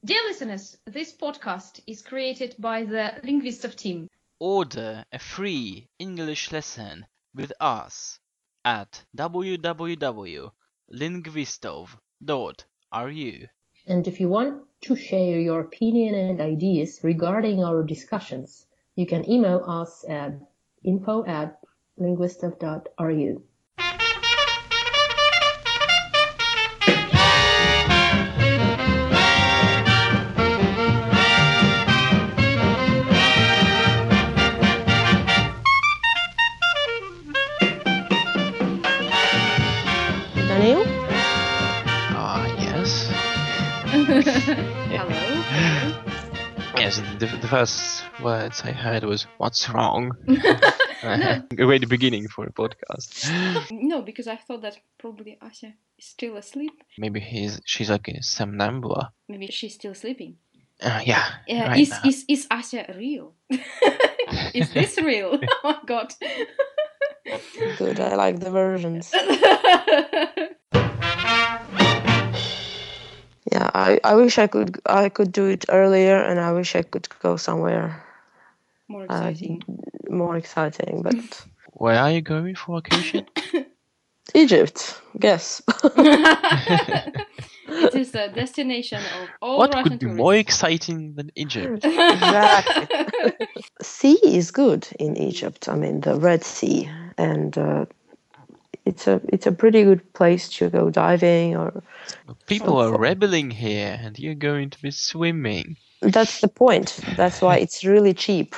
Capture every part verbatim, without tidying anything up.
Dear listeners, this podcast is created by the Linguistov team. Order a free English lesson with us at w w w dot linguistov dot r u. And if you want to share your opinion and ideas regarding our discussions, you can email us at info at linguistov dot r u. Daniel? Ah, yes. Hello. Yes, the, the first words I heard was, "What's wrong?" A great beginning for a podcast. No, because I thought that probably Asya is still asleep. Maybe he's she's like a somnambula. Maybe she's still sleeping. Uh, yeah, Yeah, right is, now. is is Asya real? Is this real? Oh my god. Good, I like the versions. Yeah, I, I wish I could I could do it earlier, and I wish I could go somewhere More uh, exciting. more exciting, but Where are you going for vacation? Egypt, guess. It is the destination of all What Russian could be tourists. more exciting than Egypt? Exactly. Sea is good in Egypt. I mean, the Red Sea, and uh, it's a it's a pretty good place to go diving. Or People are rebelling here, and you're going to be swimming. that's the point. That's why it's really cheap.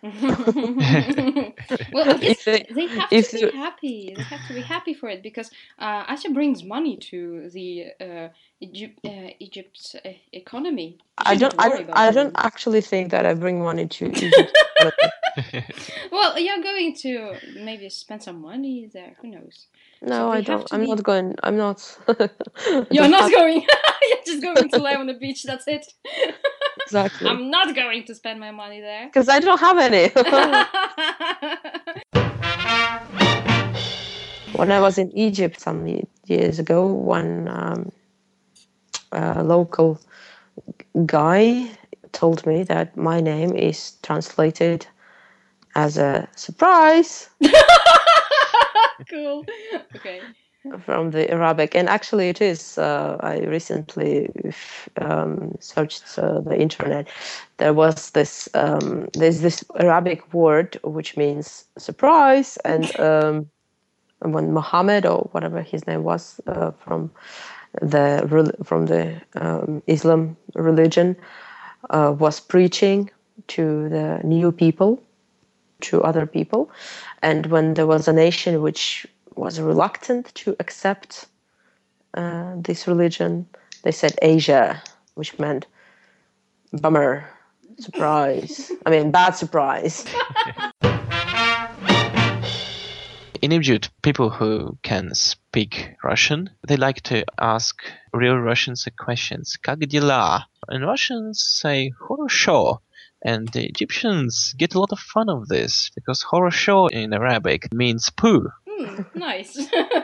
Well, I guess If they- they have if to you- be happy. They have to be happy for it because uh, Asya brings money to the uh, Egypt, uh, Egypt's uh, economy. I don't. Shouldn't I, worry about I it. don't actually think that I bring money to Egypt. Well, you're going to maybe spend some money there. Who knows? No, So I they have don't. to I'm be- not going. I'm not. You're Just not have- going. You're just going to lie on the beach. That's it. exactly I'm not going to spend my money there. because I don't have any. When I was in Egypt some ye- years ago, one um, uh, local guy told me that my name is translated as a surprise Cool. Okay. from the Arabic, and actually it is. Uh, I recently um, searched uh, the internet. There was this. Um, there's this Arabic word which means surprise, and um, when Muhammad or whatever his name was uh, from the rel- from the um, Islam religion uh, was preaching to the new people, to other people, and when there was a nation which was reluctant to accept uh, this religion, they said Asia, which meant bummer, surprise. I mean, bad surprise. In Egypt, people who can speak Russian, they like to ask real Russians a questions. Как дела? And Russians say хорошо. And the Egyptians get a lot of fun of this because хорошо in Arabic means poo. Hmm, nice.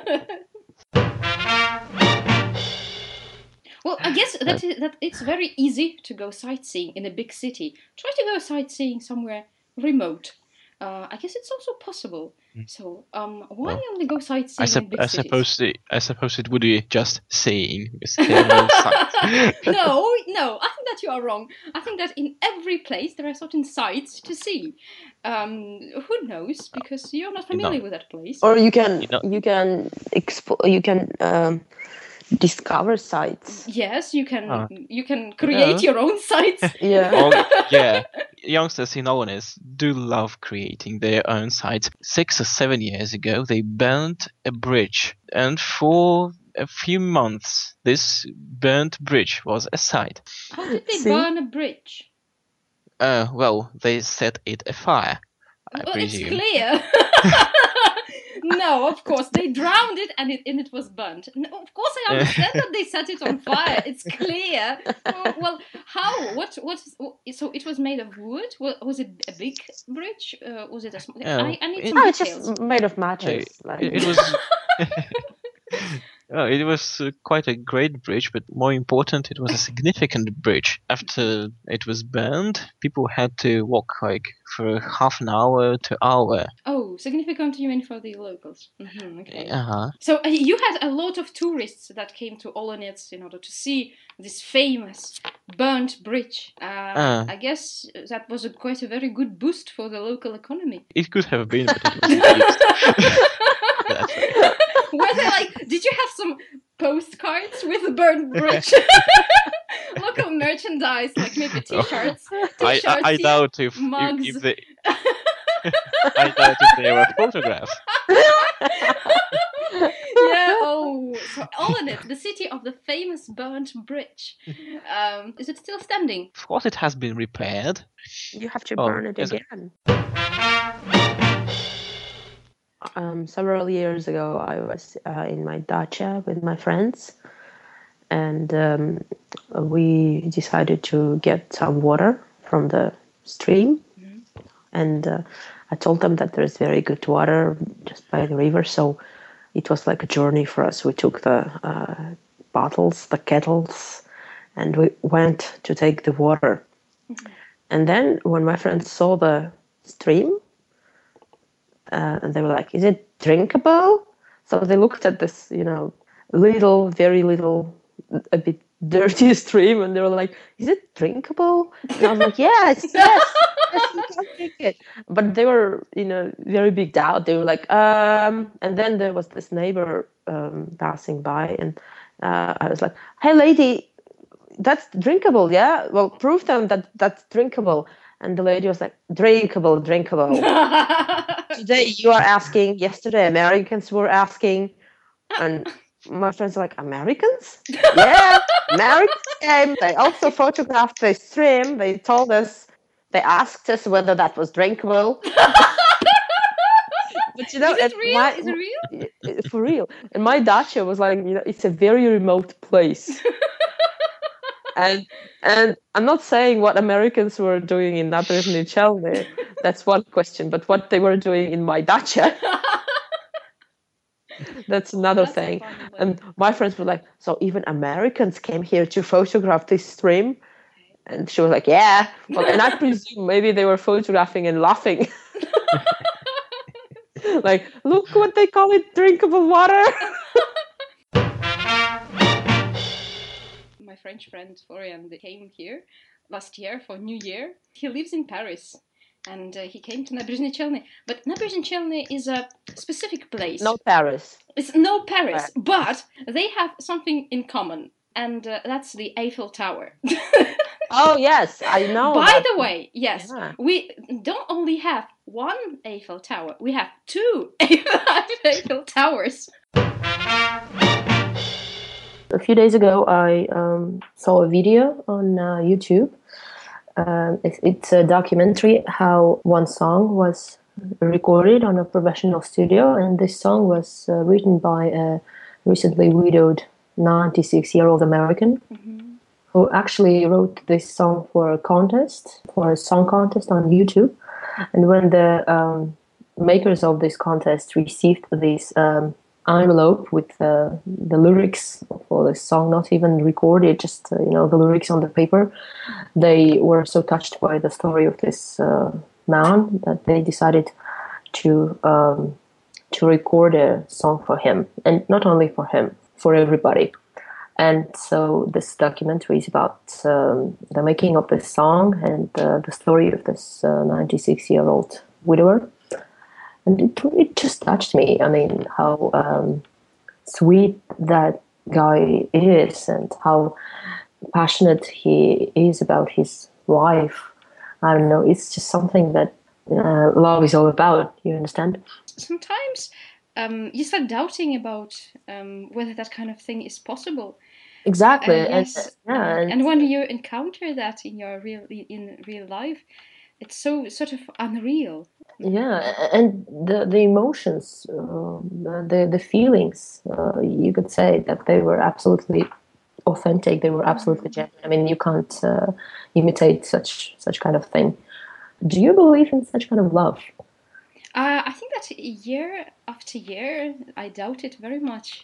Well, I guess that is, that it's very easy to go sightseeing in a big city. Try to go sightseeing somewhere remote. Uh, I guess it's also possible. So, um, why Well, only go sightseeing I, sup- in big I cities? suppose it, I suppose it would be just saying because there are no sights. No, no, I think that you are wrong. I think that in every place there are certain sights to see. Um, who knows? Because you're not You know. familiar with that place. Or you can You know- you can expo- you can um, discover sites. Yes, you can. Ah. You can create Yeah. your own sites. Yeah. Oh, yeah, youngsters in Oweness do love creating their own sites. Six or seven years ago, they burnt a bridge, and for a few months, this burnt bridge was a site. How did they See? burn a bridge? Uh, well, they set it afire, I Well, it's presume. clear. No, of course they drowned it and it and it was burnt. No, of course I understand that they set it on fire. It's clear. Well, well, how? What? What? So it was made of wood. Wa- Was it a big bridge? Uh, was it a small? Yeah, I, I need it- some No, it's details. just made of No, matches. like- it, it was Oh, it was uh, quite a great bridge, but more important, it was a significant bridge. After it was burned, people had to walk like for half an hour to hour. Oh, significant you mean for the locals. Mm-hmm, okay. Uh-huh. So uh, you had a lot of tourists that came to Olonets in order to see this famous burnt bridge. Uh, Uh. I guess that was a, quite a very good boost for the local economy. It could have been, but it wasn't used. That's right. Were there like, did you have some postcards with the burnt bridge? Local merchandise, like maybe t-shirts, I, t-shirts, I, I yeah, doubt if, mugs. if, if they I doubt if they were photographs. Yeah, oh, so Olonets, the city of the famous burnt bridge. Um, is it still standing? Of course it has been repaired. You have to Oh, burn it is it? again. Um, several years ago, I was uh, in my dacha with my friends, and um, we decided to get some water from the stream. Mm-hmm. And uh, I told them that there's very good water just by the river, so it was like a journey for us. We took the uh, bottles, the kettles, and we went to take the water. Mm-hmm. And then when my friends saw the stream, Uh, and they were like, is it drinkable? So they looked at this, you know, little, very little, a bit dirty stream, and they were like, is it drinkable? And I was like, yes, yes, yes, you can drink it. But they were, you know, very big doubt. They were like, um, and then there was this neighbor um, passing by, and uh, I was like, hey, lady, that's drinkable, yeah? Well, prove them that that's drinkable. And the lady was like, drinkable, drinkable. Today you are asking, yesterday Americans were asking. And my friends are like, Americans? Yeah, Americans came. They also photographed the stream. They told us, they asked us whether that was drinkable. But you know, is it real? My, is it real? For real. And my dacha was like, you know, it's a very remote place. And and I'm not saying what Americans were doing in Nabrzhny Chelny. That's one question. But what they were doing in my dacha, that's another That's thing. And my friends were like, so even Americans came here to photograph this stream? And she was like, yeah. Well, and I presume maybe they were photographing and laughing. Like, look what they call it, drinkable water. My French friend Florian, they came here last year for New Year. He lives in Paris, and uh, he came to Nabrzhny Chelny. But Nabrzhny Chelny is a specific place. No Paris. It's no Paris, right. But they have something in common, and uh, that's the Eiffel Tower. Oh, yes, I know. By that. the way, yes, yeah. We don't only have one Eiffel Tower, we have two Eiffel Towers. A few days ago, I um, saw a video on uh, YouTube. Um, it, it's a documentary how one song was recorded on a professional studio, and this song was uh, written by a recently widowed ninety-six-year-old American mm-hmm. who actually wrote this song for a contest, for a song contest on YouTube. And when the um, makers of this contest received this um, envelope with uh, the lyrics for the song, not even recorded, just uh, you know the lyrics on the paper, they were so touched by the story of this uh, man that they decided to um, to record a song for him, and not only for him, for everybody. And so this documentary is about um, the making of this song and uh, the story of this uh, ninety-six-year-old widower. And it, it just touched me. I mean, how um, sweet that guy is and how passionate he is about his wife. I don't know, it's just something that uh, love is all about, you understand? Sometimes um, you start doubting about um, whether that kind of thing is possible. Exactly. Uh, yes. and, yeah, and, and when you encounter that in your real in real life, it's so sort of unreal. Yeah, and the the emotions, uh, the the feelings, uh, you could say that they were absolutely authentic. They were absolutely genuine. I mean, you can't uh, imitate such such kind of thing. Do you believe in such kind of love? Uh, I think that year after year, I doubt it very much.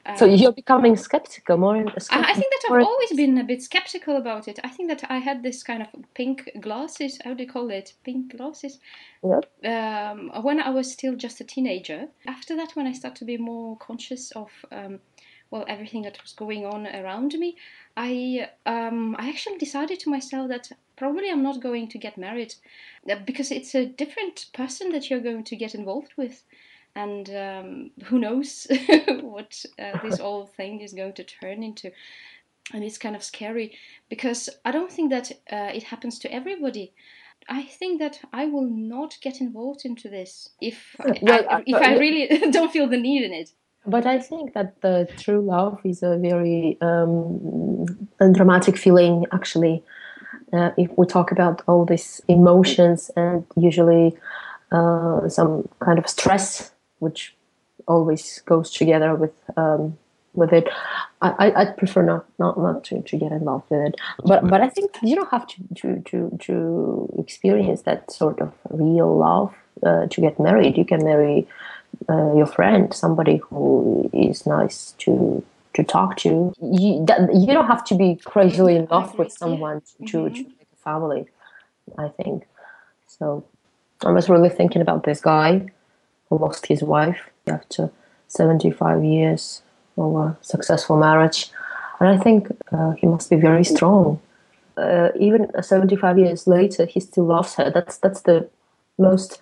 So you're becoming skeptical, more skeptical. I, I think that I've always been a bit skeptical about it. I think that I had this kind of pink glasses, how do you call it? Pink glasses? Yep. Um, when I was still just a teenager. After that, when I started to be more conscious of, um, well, everything that was going on around me, I, um, I actually decided to myself that probably I'm not going to get married because it's a different person that you're going to get involved with. And um, who knows what uh, this whole thing is going to turn into. And it's kind of scary because I don't think that uh, it happens to everybody. I think that I will not get involved into this if, well, I, if I really don't feel the need in it. But I think that the true love is a very um, a dramatic feeling, actually. Uh, if we talk about all these emotions and usually uh, some kind of stress, which always goes together with um, with it, I I prefer not not, not to, to get involved with it. But but I think you don't have to to to, to experience that sort of real love uh, to get married. You can marry uh, your friend, somebody who is nice to to talk to. You that, you don't have to be crazily in love with someone to, to, mm-hmm. to make a family, I think. So I was really thinking about this guy who lost his wife after seventy-five years of a successful marriage. And I think uh, he must be very strong. Uh, even seventy-five years later, he still loves her. That's that's the most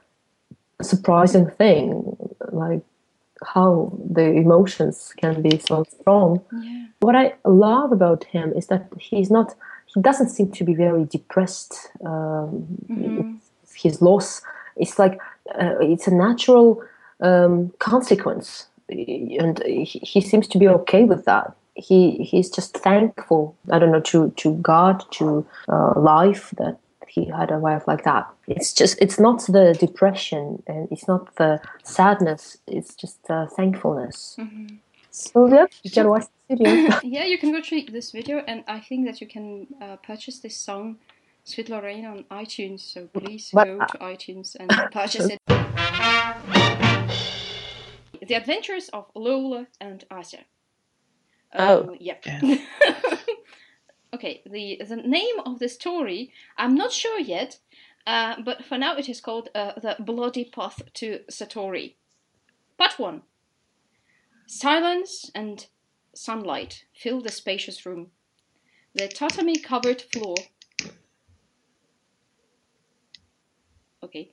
surprising thing, like how the emotions can be so strong. Yeah. What I love about him is that he's not, he doesn't seem to be very depressed. Um, mm-hmm. His loss, it's like, uh, it's a natural um, consequence. And he, he seems to be okay with that. He he's just thankful, I don't know, to, to God, to uh, life, that he had a wife like that. It's just, it's not the depression and it's not the sadness, it's just uh, thankfulness. Mm-hmm. So yeah, you can watch the video. Yeah, you can watch this video, and I think that you can uh, purchase this song, Sweet Lorraine, on iTunes, so please but, go to uh, iTunes and purchase it. The Adventures of Lola and Asa. Oh. Um, yep. Yeah. Okay, the, the name of the story, I'm not sure yet, uh, but for now it is called uh, The Bloody Path to Satori. Part one. Silence and sunlight fill the spacious room. The tatami-covered floor... Okay.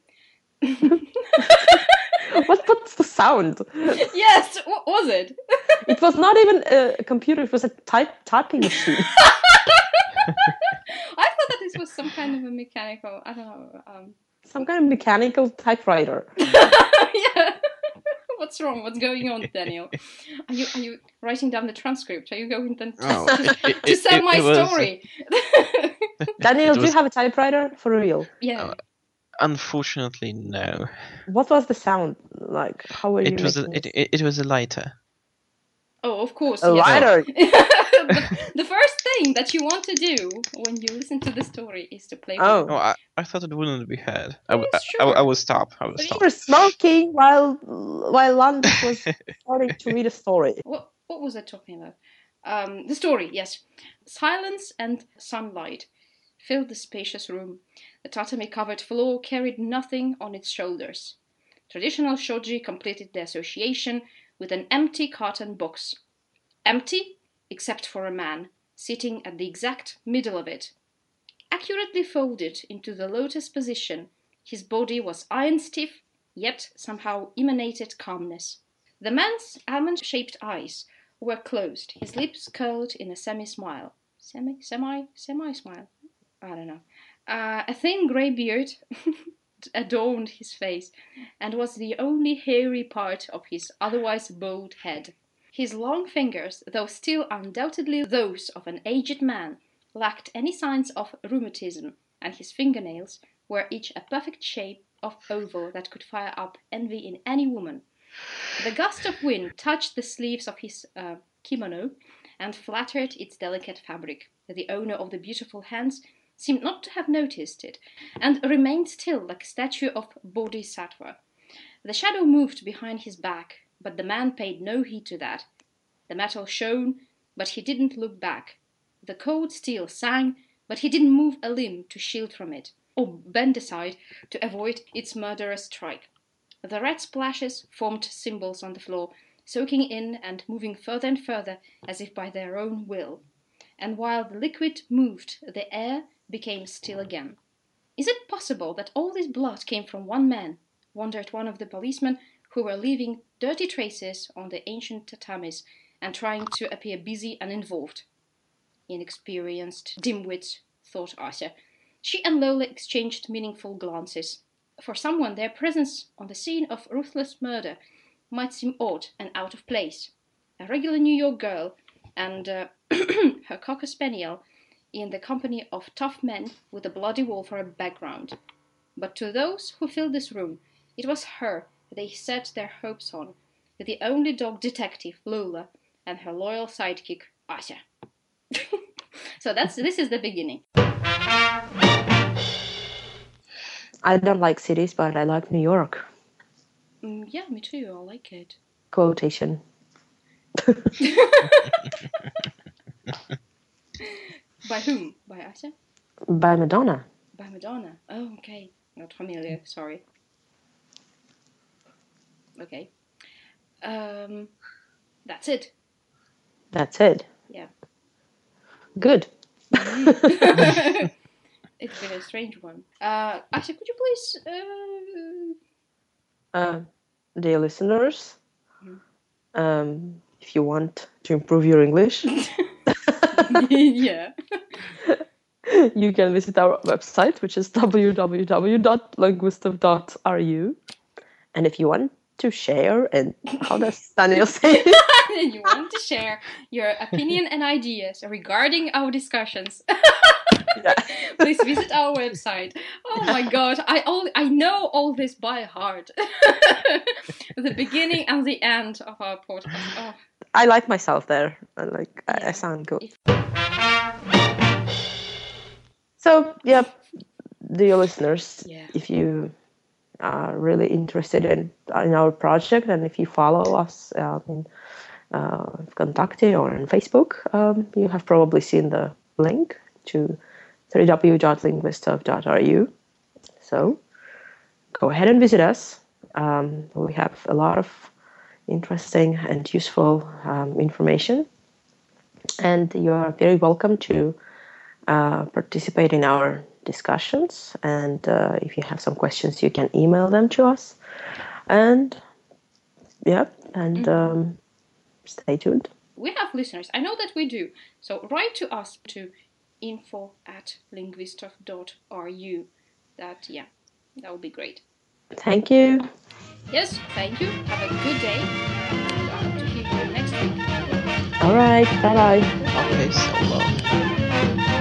what, what's the sound? Yes, what was it? It was not even a computer, it was a type typing machine. I thought that this was some kind of a mechanical, I don't know. Um... Some kind of mechanical typewriter. Yeah. What's wrong? What's going on, Daniel? Are you are you writing down the transcript? Are you going then to, oh, to, it, to sell it, my it was, story? Daniel, was, do you have a typewriter for real? Yeah. Uh, unfortunately, no. What was the sound like? How were you? It was a, it, it, it was a lighter. Oh, of course. A yes. lighter. the, the first thing that you want to do when you listen to the story is to play. Oh, oh I, I thought it wouldn't be heard. I, Yes, I, sure. I, I will stop. I will so stop. you were smoking while while Landis was starting to read a story. What what was I talking about? Um, the story, yes. Silence and sunlight filled the spacious room. The tatami-covered floor carried nothing on its shoulders. Traditional shoji completed the association with an empty carton box. Empty, except for a man, sitting at the exact middle of it. Accurately folded into the lotus position, his body was iron-stiff, yet somehow emanated calmness. The man's almond-shaped eyes were closed, his lips curled in a semi-smile. Semi, semi, semi-smile? I don't know. Uh, a thin grey beard adorned his face, and was the only hairy part of his otherwise bald head. His long fingers, though still undoubtedly those of an aged man, lacked any signs of rheumatism, and his fingernails were each a perfect shape of oval that could fire up envy in any woman. The gust of wind touched the sleeves of his uh, kimono and flattered its delicate fabric. The owner of the beautiful hands seemed not to have noticed it, and remained still like a statue of Bodhisattva. The shadow moved behind his back, but the man paid no heed to that. The metal shone, but he didn't look back. The cold steel sang, but he didn't move a limb to shield from it, or bend aside to avoid its murderous strike. The red splashes formed symbols on the floor, soaking in and moving further and further as if by their own will. And while the liquid moved, the air became still again. Is it possible that all this blood came from one man? Wondered one of the policemen who were leaving dirty traces on the ancient tatamis and trying to appear busy and involved. Inexperienced dimwits, thought Ася. She and Lola exchanged meaningful glances. For someone, their presence on the scene of ruthless murder might seem odd and out of place. A regular New York girl and uh, her cocker spaniel in the company of tough men with a bloody wall for a background. But to those who filled this room, it was her they set their hopes on, the only dog detective, Lola, and her loyal sidekick, Ася. So that's this is the beginning. I don't like cities, but I like New York. Mm, yeah, me too. I like it. Quotation. By whom? By Ася? By Madonna. By Madonna. Oh, okay. Not familiar. Sorry. Okay. Um, that's it. That's it. Yeah. Good. It's been a strange one. Uh, Ася, could you please... Uh... Uh, dear listeners, Mhm. um, if you want to improve your English, Yeah. you can visit our website, which is w w w dot linguistov dot r u. And if you want to share, and how does Daniel say it? And you want to share your opinion and ideas regarding our discussions, Yeah. please visit our website. Oh my god, I all I know all this by heart. The beginning and the end of our podcast. Oh. I like myself there. I like I, I Yeah. sound good. If- So, yeah, dear listeners, Yeah. if you are really interested in in our project, and if you follow us um, in uh, Contacte or on Facebook, um, you have probably seen the link to w w w dot linguistov dot r u. So, go ahead and visit us. Um, we have a lot of interesting and useful um, information, and you are very welcome to uh, participate in our discussions. And uh, if you have some questions, you can email them to us. And yeah, and um, stay tuned. We have listeners. I know that we do. So write to us to info at linguistov dot r u. That, yeah, that would be great. Thank you. Yes, thank you. Have a good day. And I hope to hear you next week. All right. Bye bye. Okay, so long.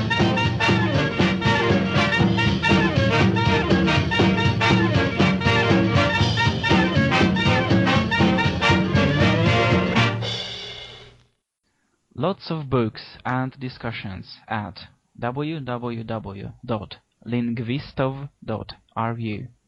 Lots of books and discussions at w w w dot linguistov dot r u.